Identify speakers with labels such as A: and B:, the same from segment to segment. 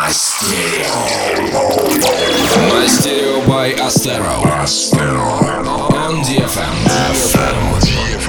A: Мастерио by Astero. On DFM.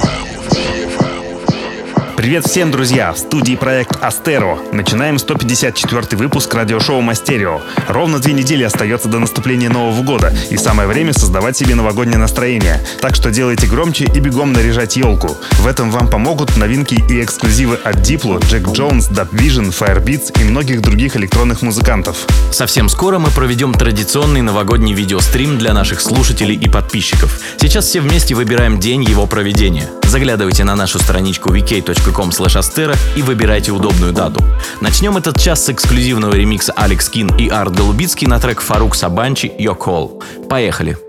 B: Привет всем, друзья! В студии проект Астеро. Начинаем 154-й выпуск радиошоу Мастерио. Ровно 2 недели остается до наступления Нового года, и самое время создавать себе новогоднее настроение. Так что делайте громче и бегом наряжать елку. В этом вам помогут новинки и эксклюзивы от Diplo, Jack Jones, Dub Vision, Firebeats и многих других электронных музыкантов.
C: Совсем скоро мы проведем традиционный новогодний видеострим для наших слушателей и подписчиков. Сейчас все вместе выбираем день его проведения. Заглядывайте на нашу страничку vk.com/astero и выбирайте удобную дату. Начнем этот час с эксклюзивного ремикса Алекс Кин и Арт Голубицкий на трек Фарук Сабанчи «Your Call». Поехали!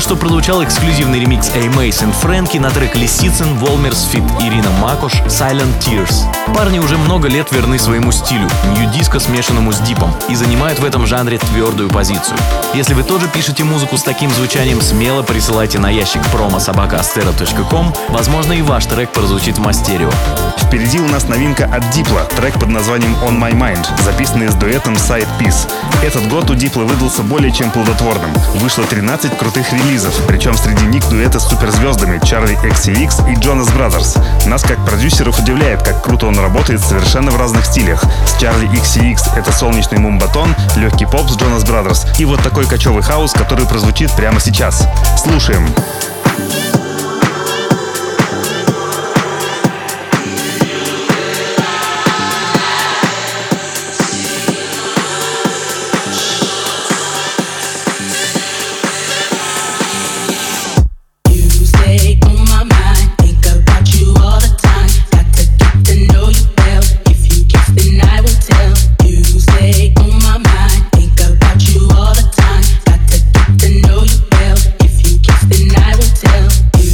C: Только что прозвучал эксклюзивный ремикс A-Mace и Фрэнки на трек Лисицын, Волмерс фит Ирина Макош, Silent Tears. Парни уже много лет верны своему стилю, нью-диско, смешанному с дипом, и занимают в этом жанре твердую позицию. Если вы тоже пишете музыку с таким звучанием, смело присылайте на ящик promo@astero.com. Возможно, и ваш трек прозвучит в Мастерио.
B: Впереди у нас новинка от Diplo, трек под названием On My Mind, записанный с дуэтом Side Piece. Этот год у Diplo выдался более чем плодотворным. Вышло 13 крутых релизов, причем среди них дуэты с суперзвездами Charli XCX и Jonas Brothers. Нас, как продюсеров, удивляет, как круто он работает совершенно в разных стилях. С Charli XCX это солнечный мумбатон, легкий поп с Jonas Brothers и вот такой кочевый хаус, который прозвучит прямо сейчас. Слушаем.
D: You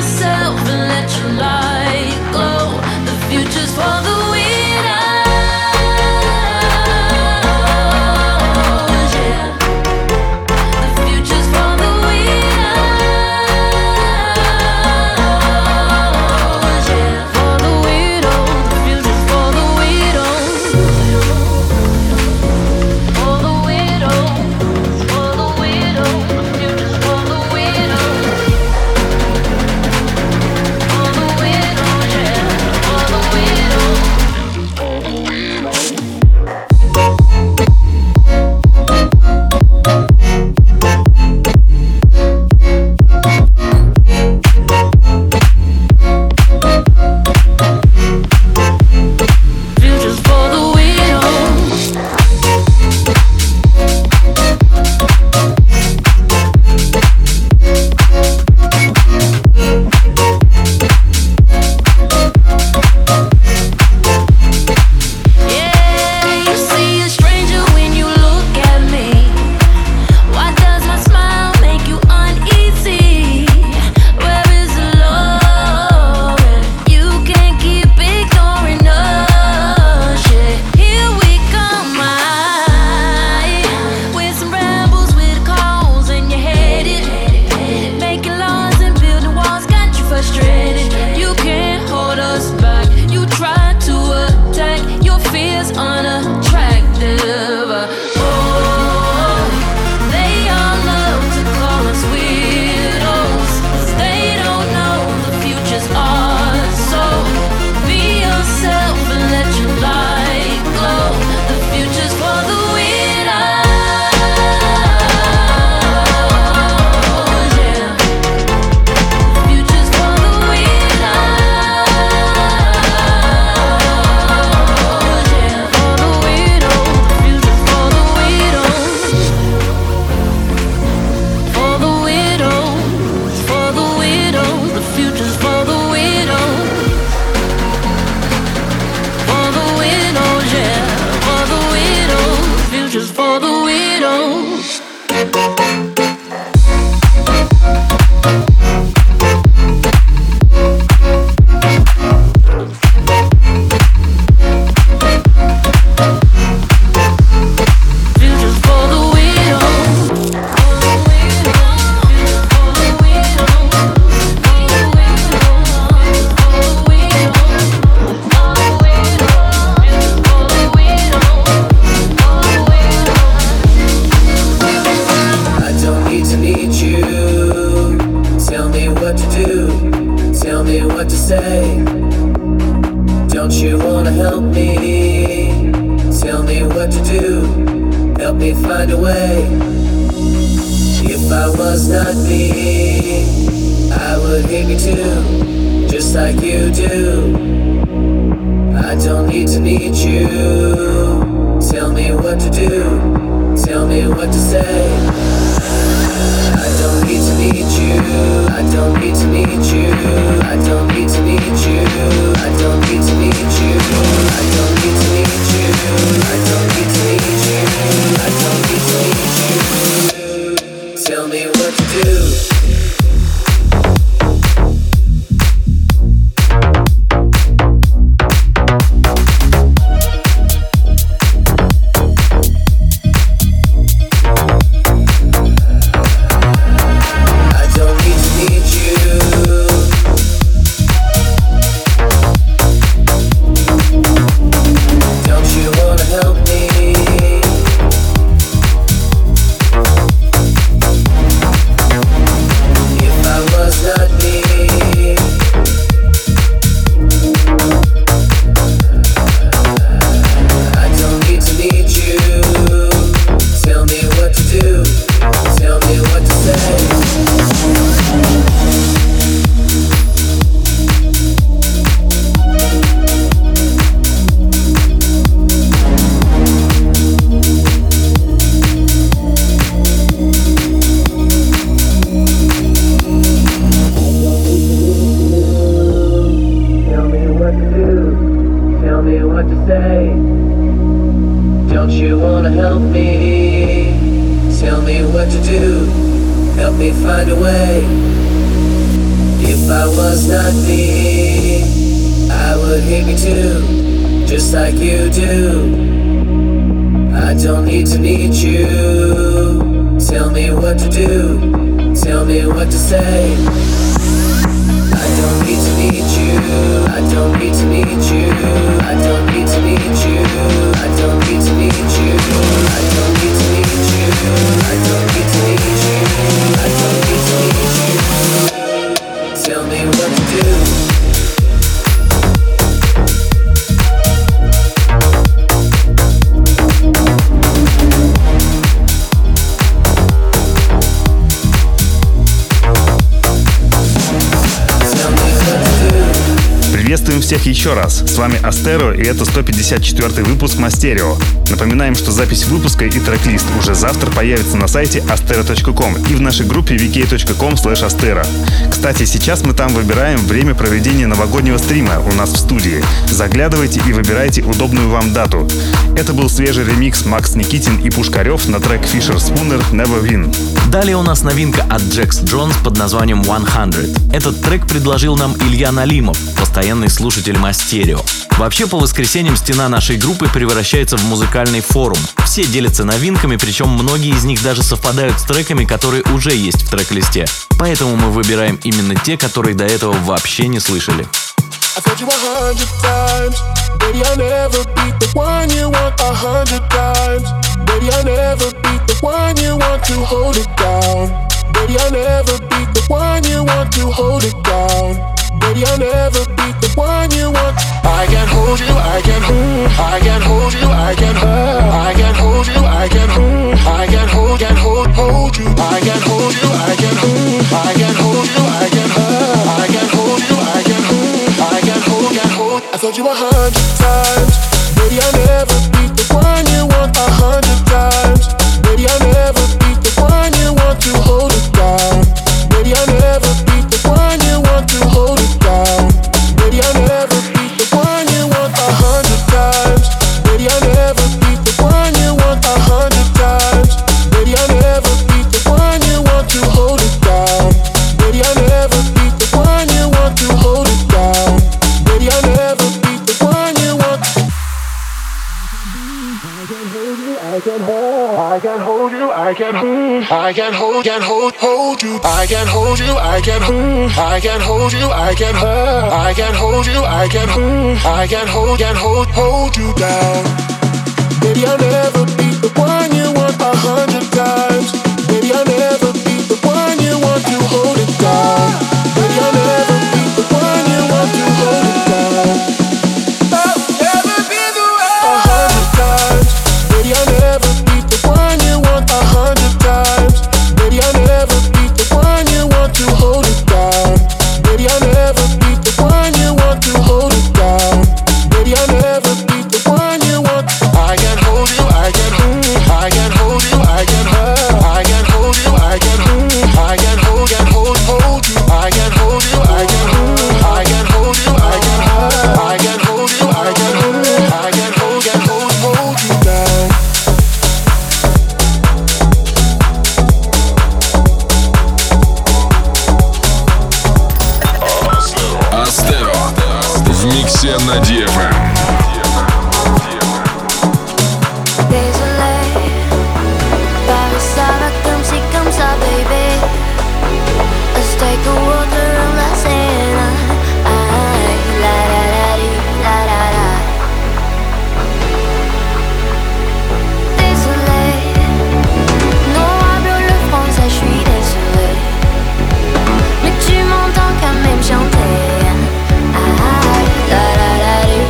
D: yourself and let your light glow. The future's for the widows, yeah. The future's for the widows, yeah. For the widows, the future's for the widows. For the widows, for the widows, the future's for the widows. For the widows, yeah. For the widows. Future's for the widows. Yeah, you see a stranger when you look at me. Why does my smile make you uneasy? Where is the love? You can't keep ignoring us. Yeah, here we come, with some rebels with calls and you're headed, making laws and building walls got you frustrated. You can't hold us back. You try to attack your fears unattractive. Oh, they all love to call us weirdos, 'cause they don't know the future's ours. So be yourself and let your light glow. The future's for the widows, yeah. The future's for the widows, yeah. For the widows, the future's for the widows. For the widows, for the widows, the future's for the widows. For the widows, yeah. For the widows, future's for the widows. Future's for the widows. For the widows, for the widows, for the widows, for the widows, for the widows, for the widows, for the widows.
E: I don't need to need you. Tell me what to do. Tell me what to say. Don't you wanna help me? Tell me what to do. Help me find a way. If I was not me, I would hate me too, just like you do. I don't need to need you. Tell me what to do. Tell me what to say. I don't need to need you. I don't need to need you. I don't need to need you. I don't need to need you. I don't need to need you. I don't need to need you. I don't need to need you. Tell me what to do. I don't need to need you. Don't you wanna help me? If I was not me, I don't need to need you. Tell me what to do. Tell me what to say. Tell me what to do. Tell me what to say. Don't you wanna help me? Tell me what to do. Help me find a way. If If I was not me, I would hate me too, just like you do. I don't need to need you. Tell me what to do, tell me what to say. I don't need to need you, I don't need to need you, I don't need to need you, I don't need to need you, I don't need to need you, I don't need to need you, I don't need to need you. Tell me what to do.
B: Приветствуем всех еще раз. С вами Астеро, и это 154 выпуск Мастерио. Напоминаем, что запись выпуска и трек-лист уже завтра появится на сайте astero.com и в нашей группе vk.com/astero. Кстати, сейчас мы там выбираем время проведения новогоднего стрима у нас в студии. Заглядывайте и выбирайте удобную вам дату. Это был свежий ремикс Макс Никитин и Пушкарев на трек Fisher Spooner Never Win.
C: Далее у нас новинка от Джекс Джонс под названием 100. Этот трек предложил нам Илья Налимов, постоянный слушатель Мастерио. Вообще, по воскресеньям стена нашей группы превращается в музыкальный форум. Все делятся новинками, причем многие из них даже совпадают с треками, которые уже есть в трек-листе. Поэтому мы выбираем именно те, которые до этого вообще не слышали.
F: I told you 100 times, baby, I'll never be the one you want 100 times. Baby, I'll never be the one you want to hold it down. Baby, I'll never be the one you want to hold it down. Baby, I'll never be the one you want. I can hold you, I can hold, I can hold you, I can hold, I can hold you, I can hold, I can hold you, I can hold you, I can hold, I can hold you, I can hold, I can hold you, I can hold, I can hold. I told you 100 times, baby, I'll never be the one you want 100 times. Baby, I'll never be the one you want to hold it down. Baby, I'll never be the one you want to hold it down. Baby, I'll never be the one you want 100 times. Baby, I'll never be the one you want 100 times. Baby, I'll never be the one you want to hold it down. Baby, I'll never be the one you want to hold it down. Baby, I'll never be the one you want. I can hold you, I can hold, I can hold you. I can hold you, I can hold, I can hold you, I can hold, I can hold you, I can hold, I can hold you down. Baby, I'll never be the one you want 100 times. Baby, I'll never be the one you want to hold it down. Baby, I'll never be the one you want to hold it down. I'll never be the one 100 times. Baby, I'll never be the one you want 100 times. Baby, I'll never be the one you want to hold it down. Baby, I'll never be the one you want to hold it down. Baby, I'll never be the one you want. I can hold you, I can hold, I can hold you, I can hold, I can hold you, I can hold, I can hold you, I can hold you, I can hold, I can hold you, I can hold, I can hold you, I can hold, I can hold you down.
A: Астеро в миксе на DFM.
D: Désolé, Paris ça va comme ça, baby. Let's take a walk around la Seine. Ay, la la la di, la la la. Désolé, non hablo le français, je suis désolé. Mais tu m'entends quand même chanter. Ay, la la la di.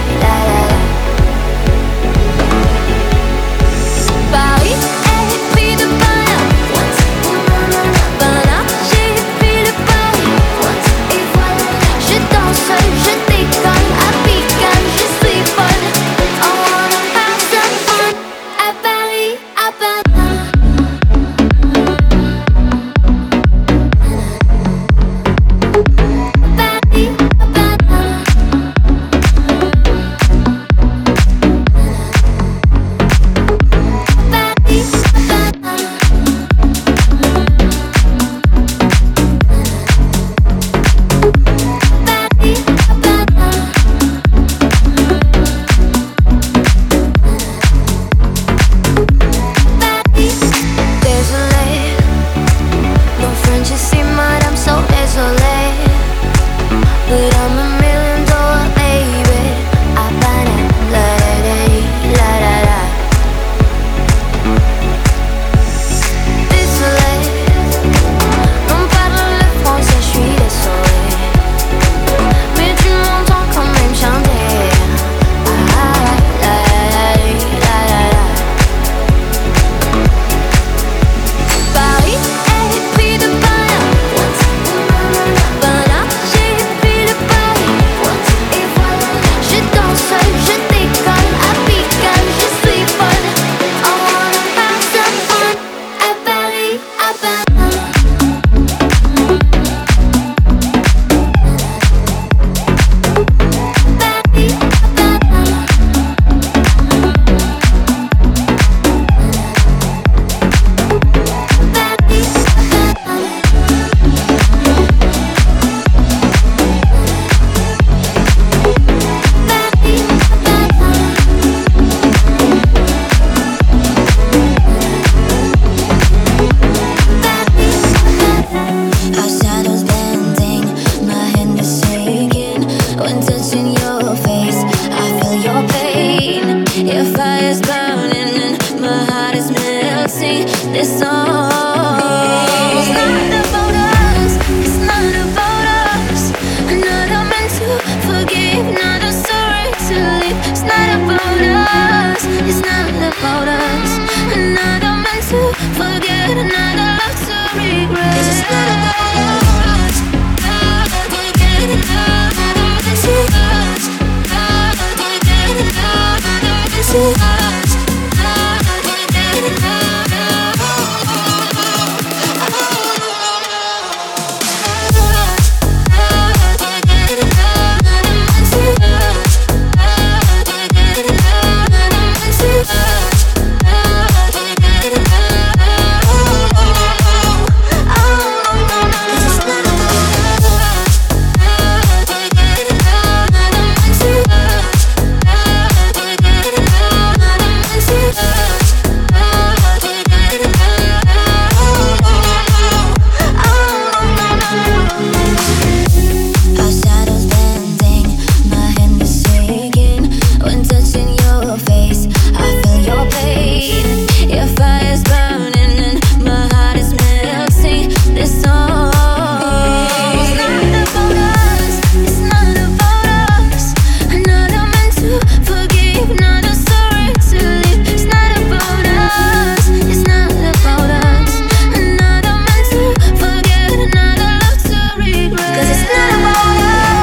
G: Our shadows bending, my hand is shaking. When touching your face, I feel your pain. Your fire's burning and my heart is melting. This song is not about us. It's not about us. Another man to forgive, another story to live. It's not about us. It's not about us. Another man to forget, another love to regret. 'Cause it's not about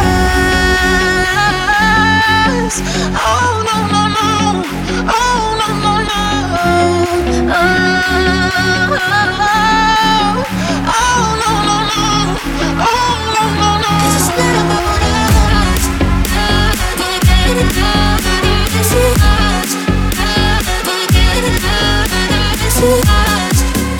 G: us. Oh no no no. Oh no no no. Oh no no no. Oh no no no. 'Cause it's not about us. This is us. This is us.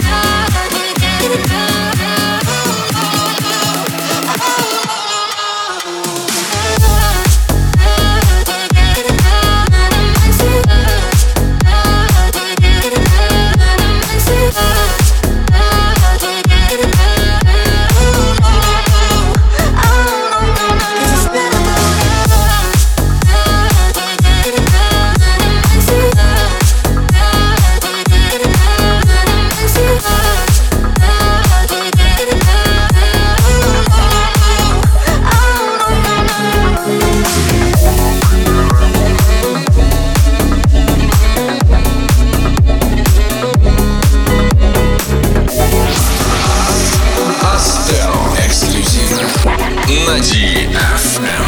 A: Астеро эксклюзивно на DFM.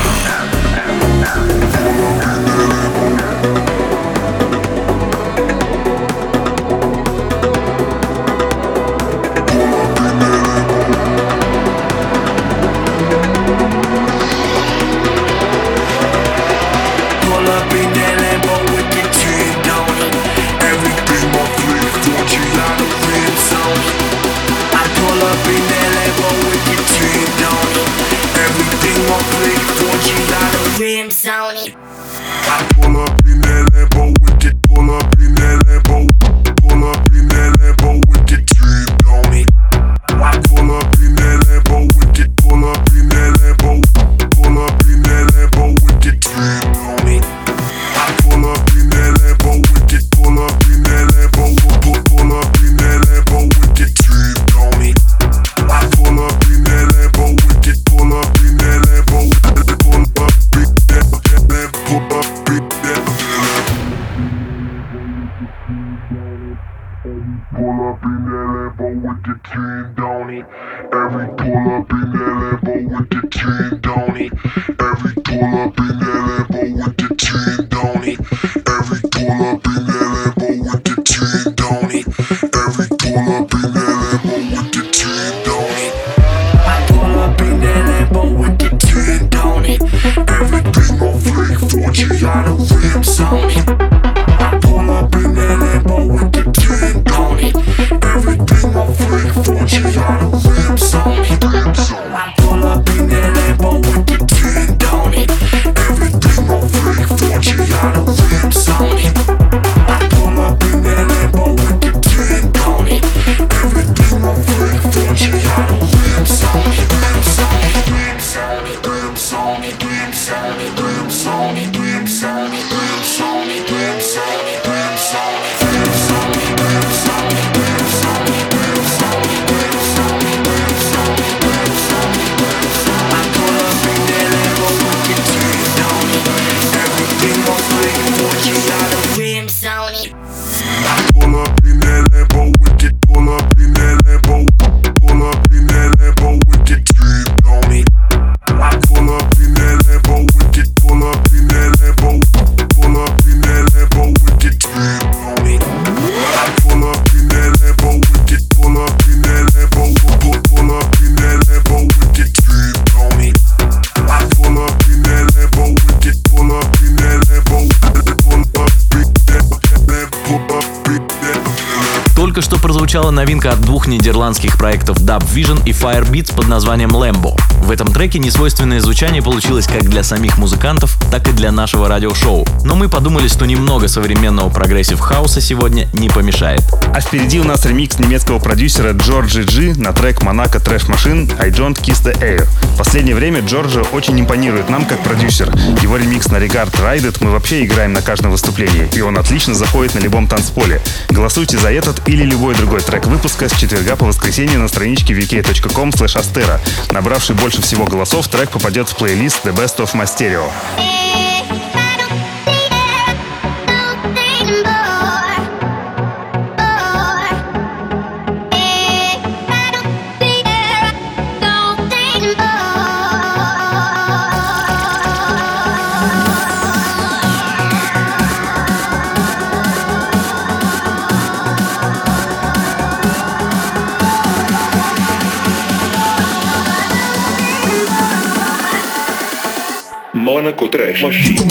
H: Pull up in that Lambo with the tint on it. Everything on fleek, 4G out of rims on it. I pull up in that Lambo with the tint on it. Everything on fleek, 4G out of rims on it. I pull up in that Lambo with the pull up in that Lambo. Pull up in that Lambo with the tint on it. I pull up in that Lambo with the pull up in that Lambo. Pull up in that Lambo with the tint on it. I pull up in that Lambo with the pull up in that Lambo. Pull up in that Lambo with the tint on it. I pull up in that Lambo with the pull up in that Lambo. Pull up in that Lambo. Pull up in that Pull up in that Lambo with the tint on it. Every pull up in that Lambo with the tint on it. Every pull up in that Lambo with the tint on it. Every pull up in that Lambo with the tint on it. Every pull up in that Lambo with the tint on it. I pull up in that Lambo with the tint on it. Everything on fleek, 4G out of rims on it. I pull up in that Lambo with the tint on it. Everything on fleek, 4G out of rims on it. I pull up in that Lambo with the tint on it. Everything on fleek, 4G out of rims on it. I pull up in that Lambo with the tint on it. Everything on fleek, 4G out of rims on it. Rims on it, rims on it, rims on it, rims on it, rims on it, rims on it, rims on it, rims on it, rims on it, rims on it, rims on it, rims on it, rims on it, rims on it, rims on it, rims on it, rims on it. I pull up in that Lambo with the tint on it. Everything on fleek, 4G out of rims on it. I pull up in that Lambo with the pull up in that Lambo. Pull up in that Lambo with the tint on it. I pull up in that Lambo with the pull up in that Lambo. Pull up in that Lambo with the tint on it. I pull up in that Lambo with the pull up in that Lambo. Pull up in that Lambo with the tint on it. I pull up in that Lambo with the pull up in that Lambo. Pull up in that Lambo. Pull up in that.
C: Только что прозвучала новинка от двух нидерландских проектов Dub Vision и Firebeats под названием Lambo. В этом треке несвойственное звучание получилось как для самих музыкантов, так и для нашего радиошоу. Но мы подумали, что немного современного прогрессив-хауса сегодня не помешает.
B: А впереди у нас ремикс немецкого продюсера Джорджи Джи на трек Monaco Trash Machine I Don't Kiss the Air. В последнее время Джорджи очень импонирует нам как продюсер. Его ремикс на Regard Ride It мы вообще играем на каждом выступлении, и он отлично заходит на любом танцполе. Голосуйте за этот или любой другой трек выпуска с четверга по воскресенье на страничке vk.com/astero. Набравший больше всего голосов, трек попадет в плейлист The Best of My Stereo.
H: Monaco Trash Machine.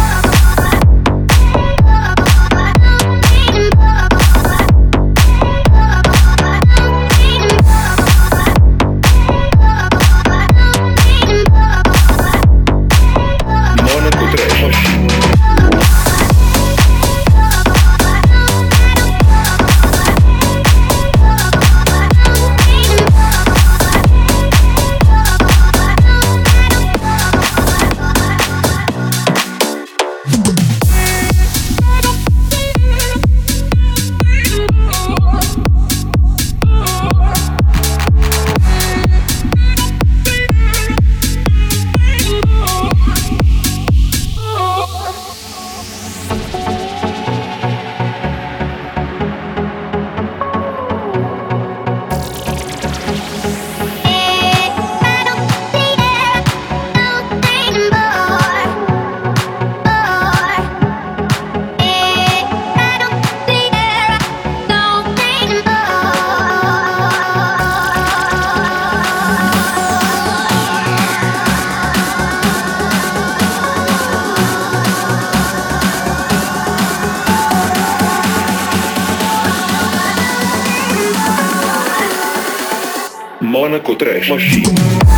H: Monaco Trash Machine.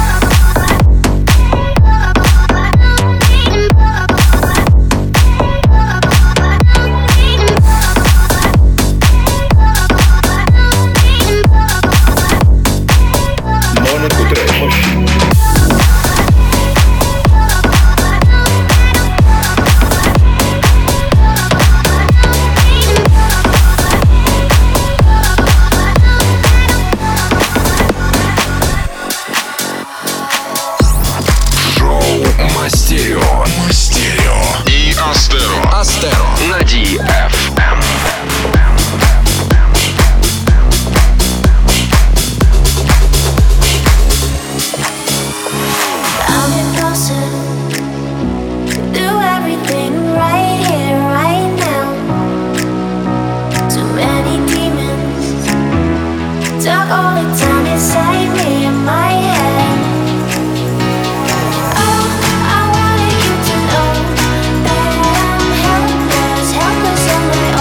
A: И Астеро на DFM.
G: I'm impulsive, do everything right here, right now. Too many demons talk all the time inside me in my head. Oh, I wanted you to know that I'm helpless on my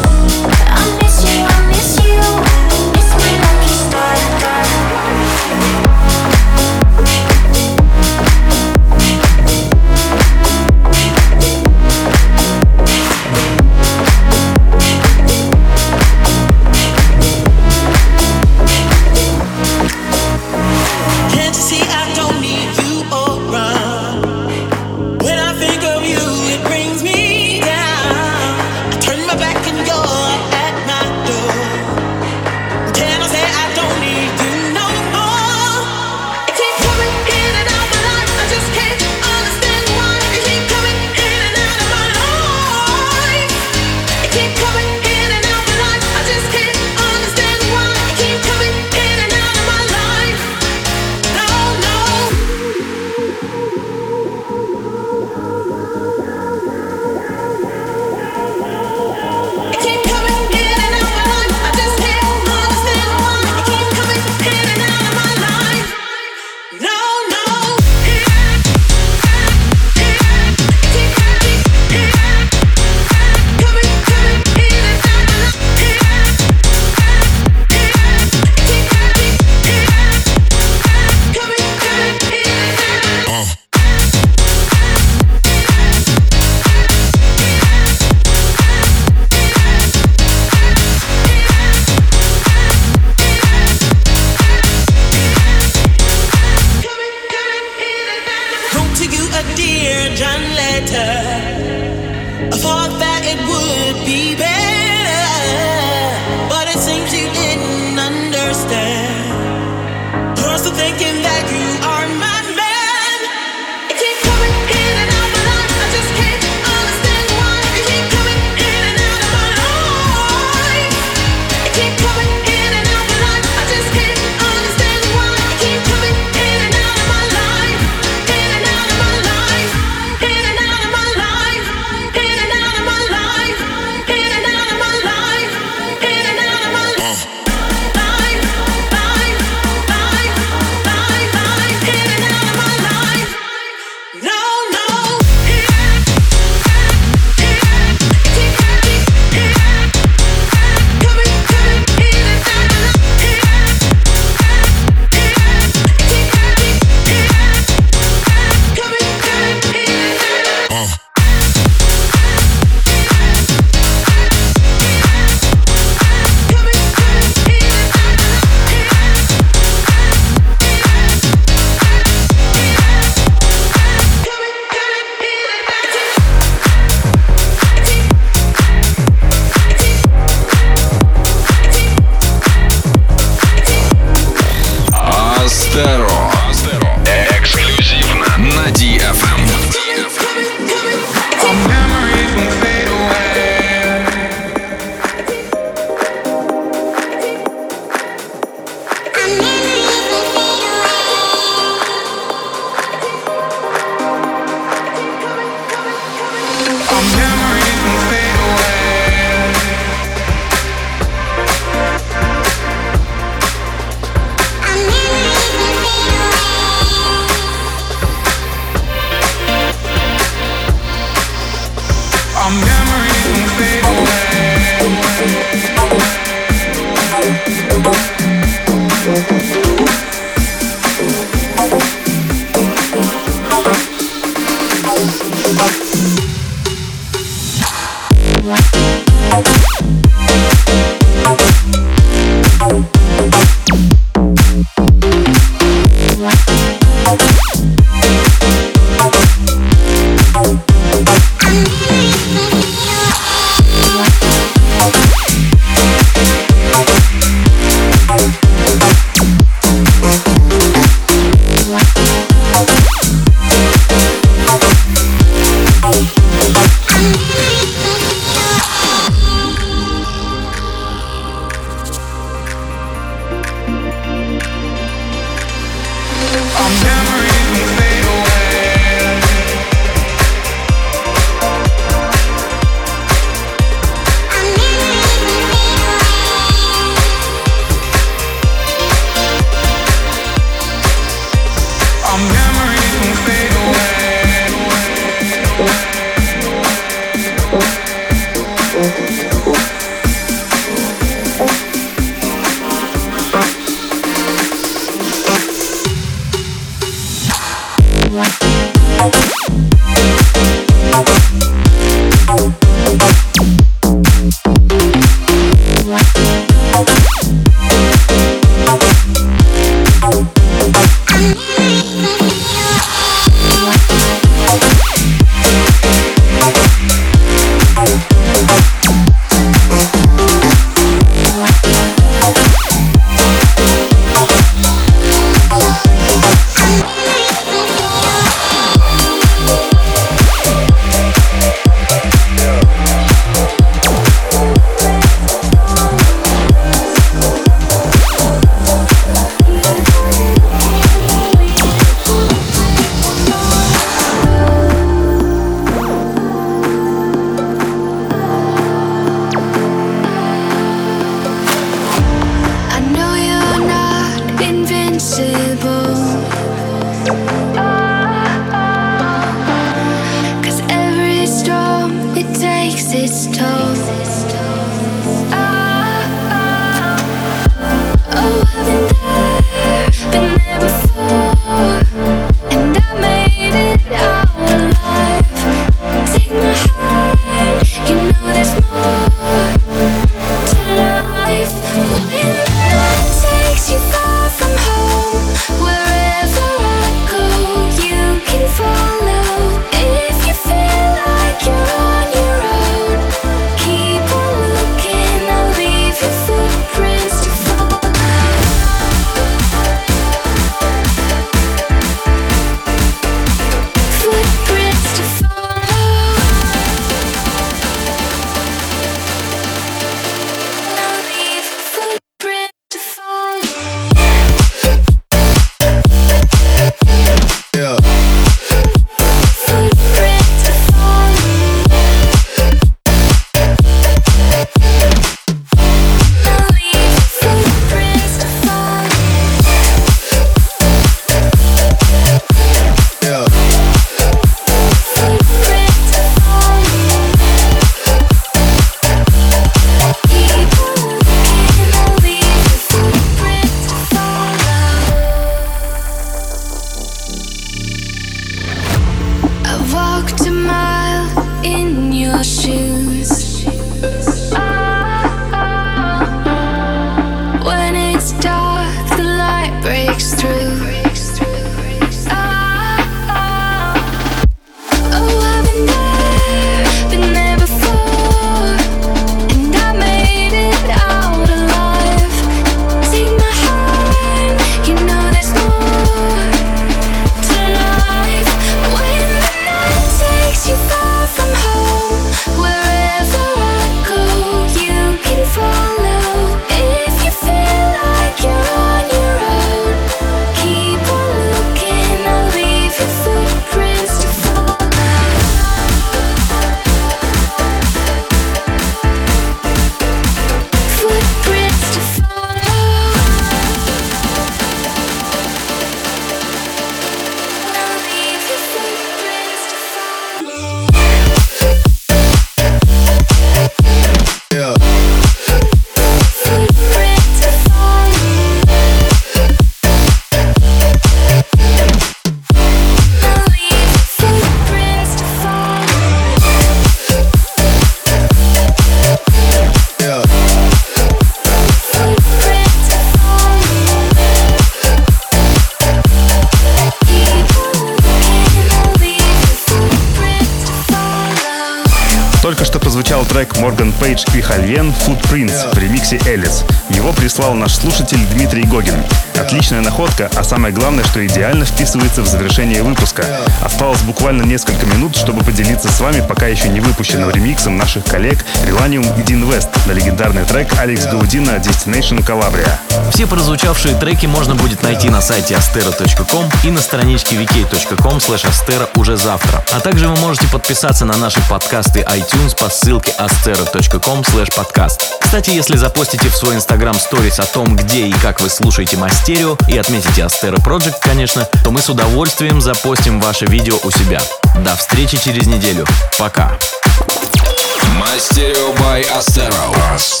B: Морган Пейдж и Хальвен Footprints в ремиксе Элис. Его прислал наш слушатель Дмитрий Гогин. Отличная находка, а самое главное, что идеально вписывается в завершение выпуска. Осталось буквально несколько минут, чтобы поделиться с вами пока еще не выпущенным ремиксом наших коллег Relanium и Dean West на легендарный трек Алекс Гаудина Destination Calabria.
C: Все прозвучавшие треки можно будет найти на сайте astero.com и на страничке vk.com/astero уже завтра. А также вы можете подписаться на наши подкасты iTunes по ссылке astero.com/podcast. Кстати, если запостите в свой Instagram Stories о том, где и как вы слушаете Мастерио, и отметите Astero Project, конечно, то мы с удовольствием запостим ваше видео у себя. До встречи через неделю. Пока.
A: Мастерио by Astero.